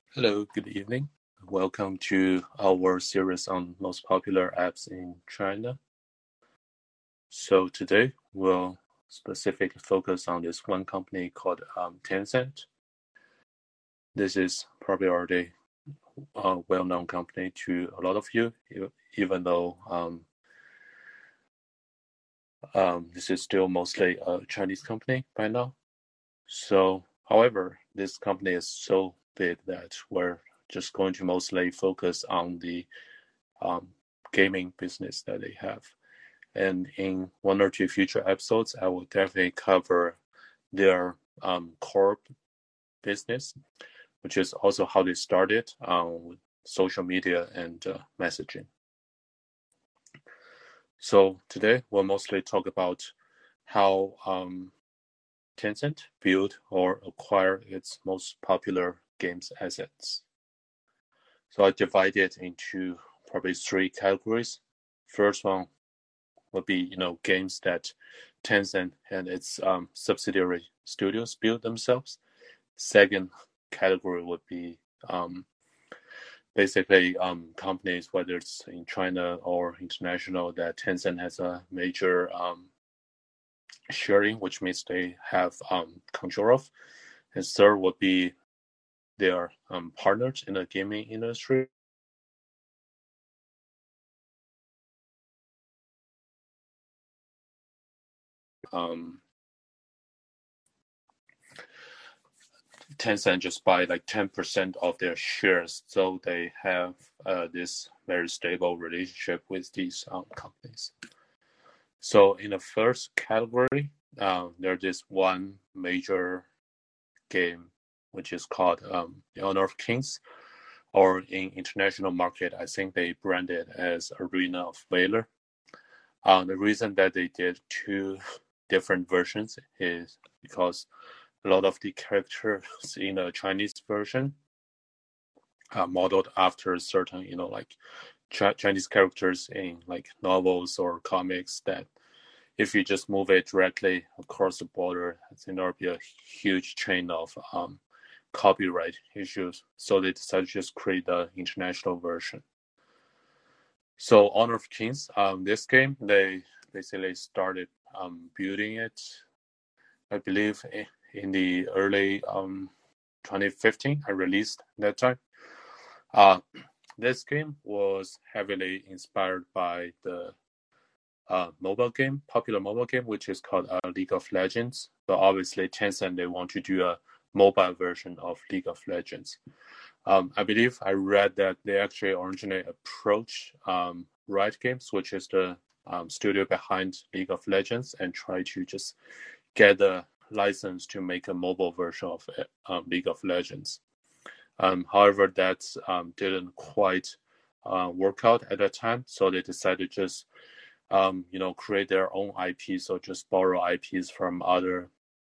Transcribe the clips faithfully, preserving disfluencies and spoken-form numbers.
Hello, good evening. Welcome to our series on most popular apps in China. So today we'll specifically focus on this one company called um, Tencent. This is probably already a well-known company to a lot of you, even though um, um, this is still mostly a Chinese company by now. So, however, this company is so big that we're just going to mostly focus on the um, gaming business that they have. And in one or two future episodes, I will definitely cover their um, core business, which is also how they started um, with social media and uh, messaging. So today we'll mostly talk about how um, Tencent built or acquired its most popular games assets. So I divide it into probably three categories. First one would be, you know, games that Tencent and its um, subsidiary studios build themselves. Second category would be um, basically um, companies, whether it's in China or international, that Tencent has a major um, sharing, which means they have um, control of. And third would be their um, partners in the gaming industry. Um, Tencent just buy like ten percent of their shares, so they have uh, this very stable relationship with these um, companies. So in the first category, uh, there's this one major game which is called um, The Honor of Kings, or in international market, I think they brand it as Arena of Valor. Uh, the reason that they did two different versions is because a lot of the characters in the Chinese version are modeled after certain, you know, like Ch- Chinese characters in like novels or comics that if you just move it directly across the border, I think there'll be a huge chain of um, copyright issues. So they decided to just create the international version. So Honor of Kings, um, this game, they basically started um, building it, I believe, in the early um, twenty fifteen. I released that time. Uh, this game was heavily inspired by the uh, mobile game, popular mobile game, which is called uh, League of Legends. But obviously, Tencent, they want to do a mobile version of League of Legends. Um, I believe I read that they actually originally approached um, Riot Games, which is the um, studio behind League of Legends, and try to just get the license to make a mobile version of um, League of Legends. Um, however, that um, didn't quite uh, work out at that time, so they decided to just um, you know, create their own I Ps or just borrow I Ps from other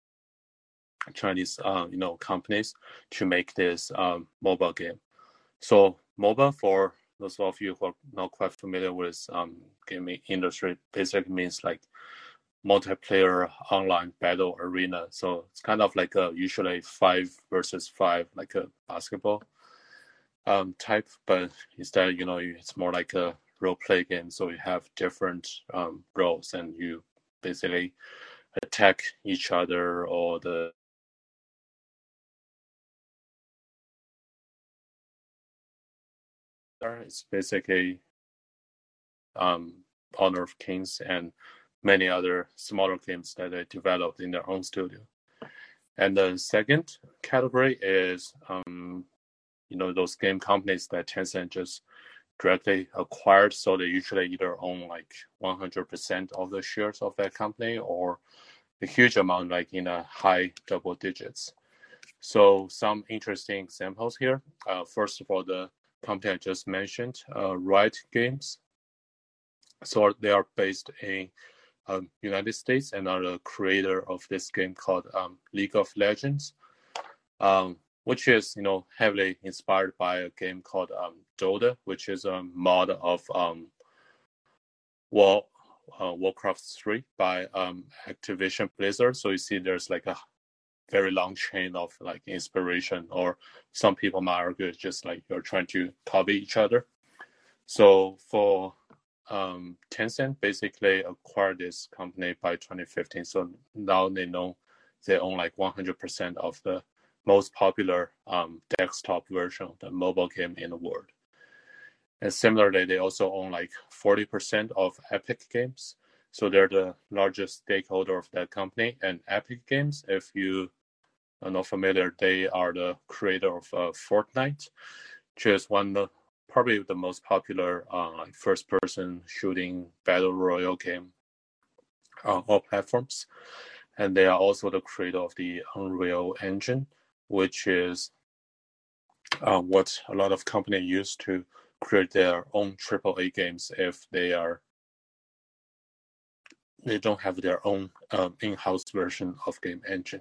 Chinese, uh, you know, companies to make this um, mobile game. So mobile, for those of you who are not quite familiar with um, gaming industry, basically means like multiplayer online battle arena. So it's kind of like a usually five versus five, like a basketball um, type, but instead, you know, it's more like a role play game. So you have different um, roles, and you basically attack each other or the. It's basically um, Honor of Kings and many other smaller games that they developed in their own studio. And the second category is, um, you know, those game companies that Tencent just directly acquired. So they usually either own like one hundred percent of the shares of that company or a huge amount, like in a high double digits. So some interesting examples here. Uh, first of all, the company I just mentioned, uh, Riot Games. So they are based in um, United States and are the creator of this game called um, League of Legends, um, which is, you know, heavily inspired by a game called um, Dota, which is a mod of um, War, uh, Warcraft three by um, Activision Blizzard. So you see there's like a very long chain of like inspiration, or some people might argue it's just like you're trying to copy each other. So for um, Tencent basically acquired this company by twenty fifteen. So now they know they own like one hundred percent of the most popular um, desktop version of the mobile game in the world. And similarly, they also own like forty percent of Epic Games. So they're the largest stakeholder of that company. And Epic Games, if you are not familiar, they are the creator of uh, Fortnite, which is one of the, probably the most popular uh, first-person shooting battle royale game on all platforms. And they are also the creator of the Unreal Engine, which is uh, what a lot of companies use to create their own triple A games if they are they don't have their own um, in-house version of game engine.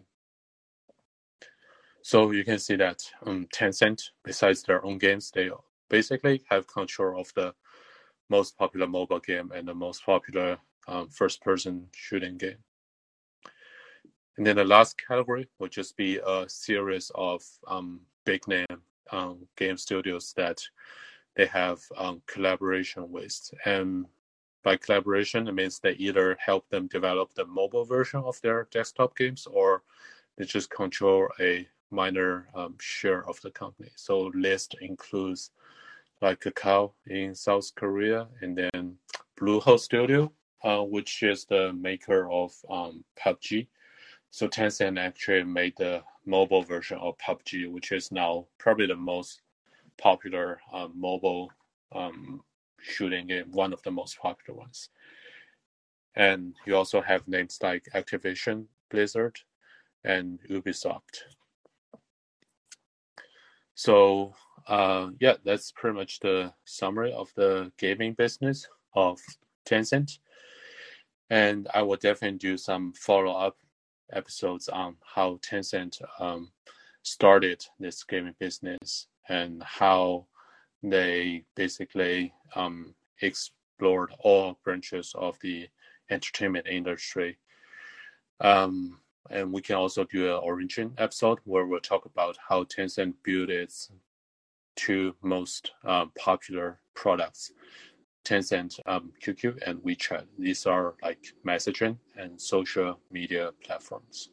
So you can see that um, Tencent, besides their own games, they basically have control of the most popular mobile game and the most popular um, first-person shooting game. And then the last category would just be a series of um, big name um, game studios that they have um, collaboration with. And by collaboration, it means they either help them develop the mobile version of their desktop games, or they just control a minor um, share of the company. So list includes like Kakao in South Korea, and then Bluehole Studio, uh, which is the maker of um, P U B G. So Tencent actually made the mobile version of P U B G, which is now probably the most popular um, mobile um, shooting game, one of the most popular ones. And you also have names like Activision, Blizzard, and Ubisoft. So uh, yeah, that's pretty much the summary of the gaming business of Tencent. And I will definitely do some follow-up episodes on how Tencent um, started this gaming business and how they basically um, explored all branches of the entertainment industry. Um, and we can also do an origin episode where we'll talk about how Tencent built its two most um, popular products, Tencent um, Q Q and WeChat. These are like messaging and social media platforms.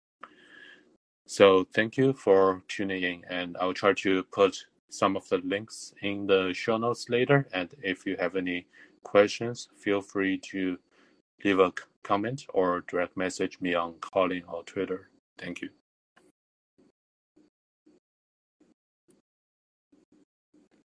So thank you for tuning in, and I'll try to put some of the links in the show notes later. And if you have any questions, feel free to leave a comment or direct message me on Calling or Twitter. Thank you.